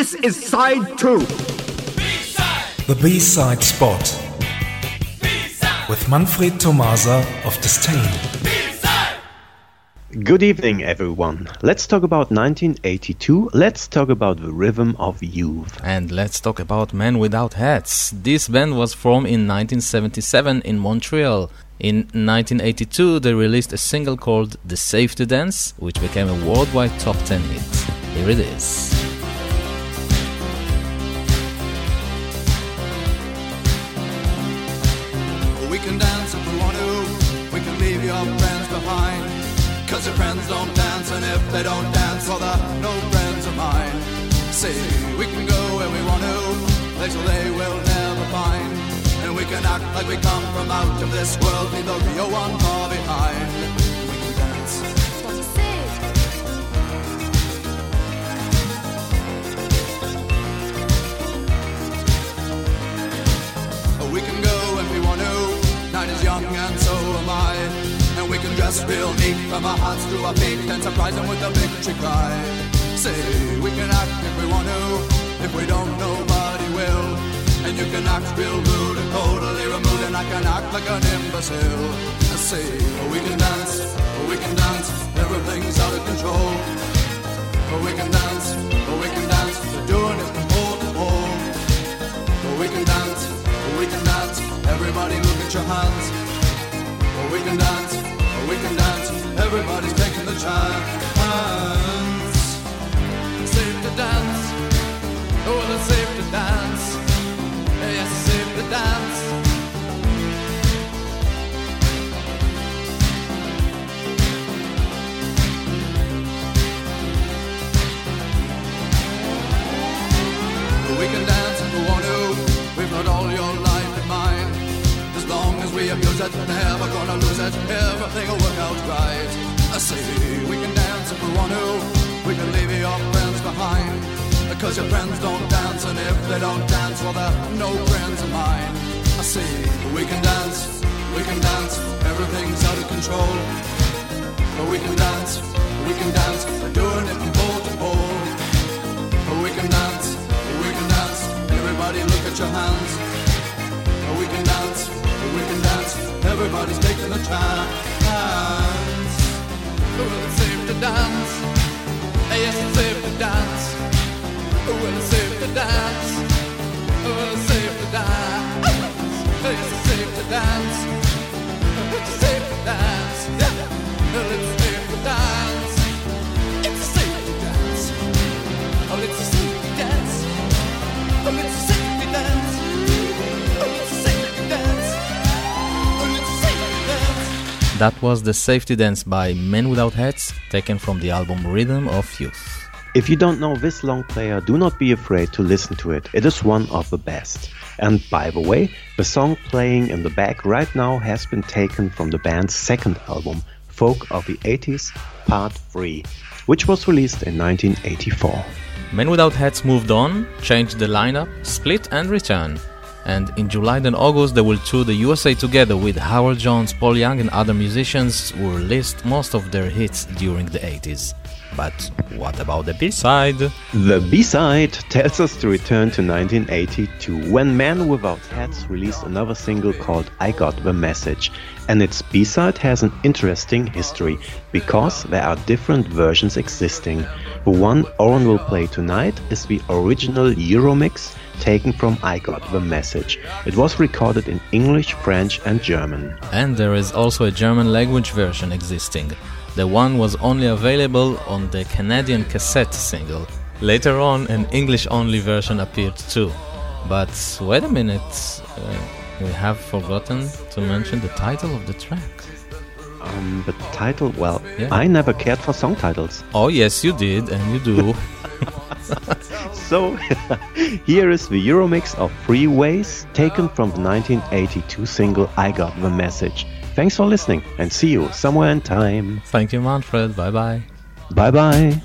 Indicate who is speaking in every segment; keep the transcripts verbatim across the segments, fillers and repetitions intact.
Speaker 1: This is side two.
Speaker 2: B-side. The B-side spot. B-side. With Manfred Tomasa of Disdain.
Speaker 3: Good evening, everyone. Let's talk about nineteen eighty-two. Let's talk about the rhythm of youth.
Speaker 4: And let's talk about Men Without Hats. This band was formed in nineteen seventy-seven in Montreal. In nineteen eighty-two, they released a single called The Safety Dance, which became a worldwide top ten hit. Here it is.
Speaker 5: We can dance if we want to. We can leave your friends behind. Cause your friends don't dance, and if they don't dance, well, they're no friends of mine. See, we can go where we want to, places they will never find. And we can act like we come from out of this world, leave the real one far behind. We can dance.
Speaker 6: What you say?
Speaker 5: We can go if we want to, night is young and so am I. And we can dress real neat from our hearts to our feet and surprise them with a victory cry. Say, we can act if we want to, if we don't, nobody will. And you can act real rude and totally removed, and I can act like an imbecile. I say, we can dance, we can dance, everything's out of control. We can dance, we can dance, we're doing it from pole to pole. We can dance, we can dance, everybody look at your hands. We can dance, we can dance, everybody's taking the chance. It's safe to dance, oh, it's safe to dance. Yes, it's safe to dance. We can dance if we want to, we've got all your life in mind. As long as we abuse it, never gonna lose it, everything will work out right. I say, we can dance if we want to, we can leave your friends behind. Because your friends don't dance, and if they don't dance, well, they're no friends of mine. I say, we can dance, we can dance, everything's out of control. But we can dance, we can dance, we're doing it from pole to pole. But we can dance, we can dance, everybody look at your hands. But we can dance, we can dance, everybody's taking the chance. Well, it's safe to dance, yes, it's safe to dance. Well, it's safe to dance. Well, it's safe to dance. It's safe to dance. It's safe to dance. Well, it's safe to dance. It's safe to dance. Oh, it's a safety dance. Oh, it's a safety dance. Oh, it's a safety dance. Oh, it's a safety dance.
Speaker 4: That was The Safety Dance by Men Without Hats, taken from the album Rhythm of Youth.
Speaker 3: If you don't know this long player, do not be afraid to listen to it. It is one of the best. And by the way, the song playing in the back right now has been taken from the band's second album, Folk of the eighties, Part three, which was released in nineteen eighty-four.
Speaker 4: Men Without Hats moved on, changed the lineup, split and returned. And in July and August they will tour the U S A together with Howard Jones, Paul Young and other musicians who released most of their hits during the eighties. But what about the B-side?
Speaker 3: The B-side tells us to return to nineteen eighty-two, when Men Without Hats released another single called I Got the Message. And its B-side has an interesting history, because there are different versions existing. The one Oren will play tonight is the original Euromix, taken from I Got the Message. It was recorded in English, French and German.
Speaker 4: And there is also a German language version existing. The one was only available on the Canadian cassette single. Later on, an English-only version appeared too. But wait a minute, uh, we have forgotten to mention the title of the track.
Speaker 3: Um, the title, well,
Speaker 4: Yeah.
Speaker 3: I never cared for song titles.
Speaker 4: Oh yes, you did, and you do.
Speaker 3: So, here is the Euromix of Freeways, taken from the nineteen eighty-two single I Got the Message. Thanks for listening, and see you somewhere in time.
Speaker 4: Thank you, Manfred. Bye-bye.
Speaker 3: Bye-bye.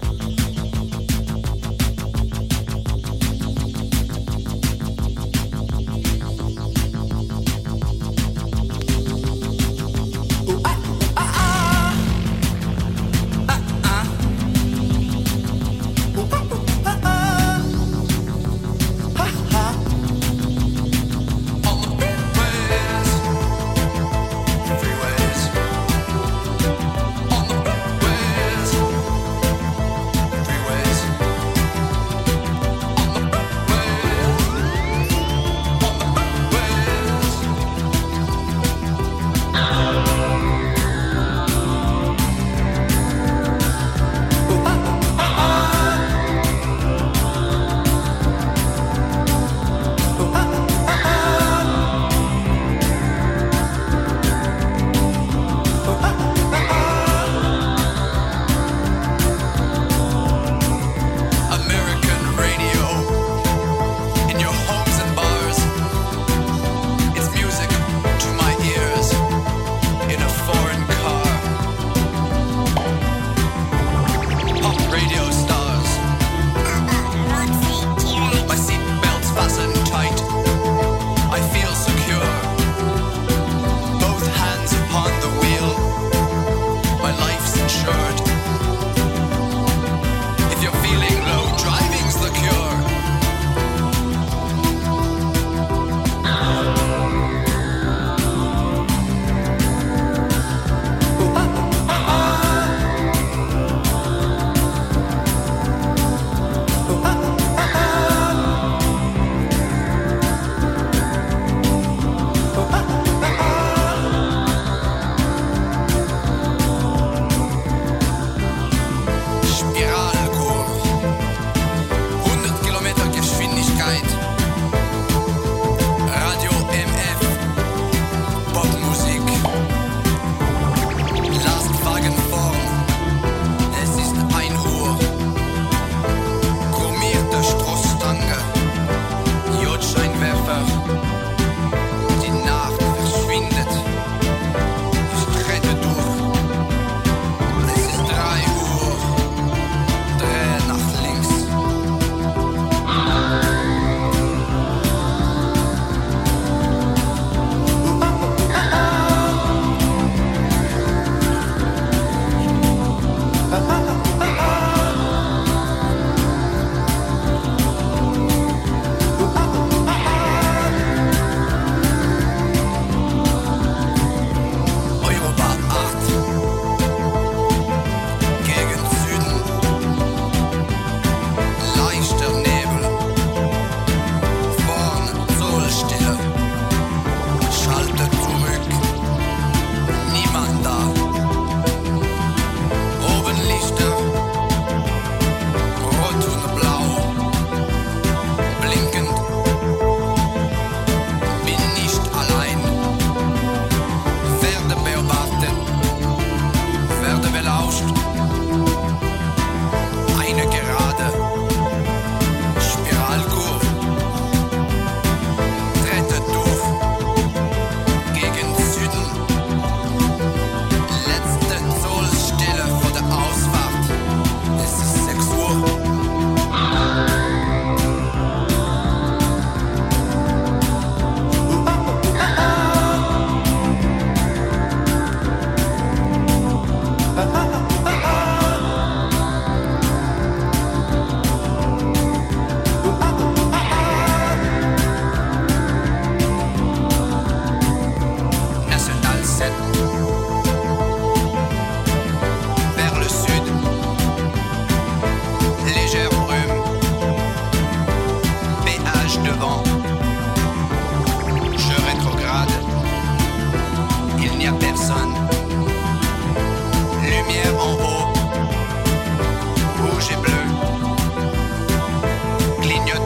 Speaker 1: clignote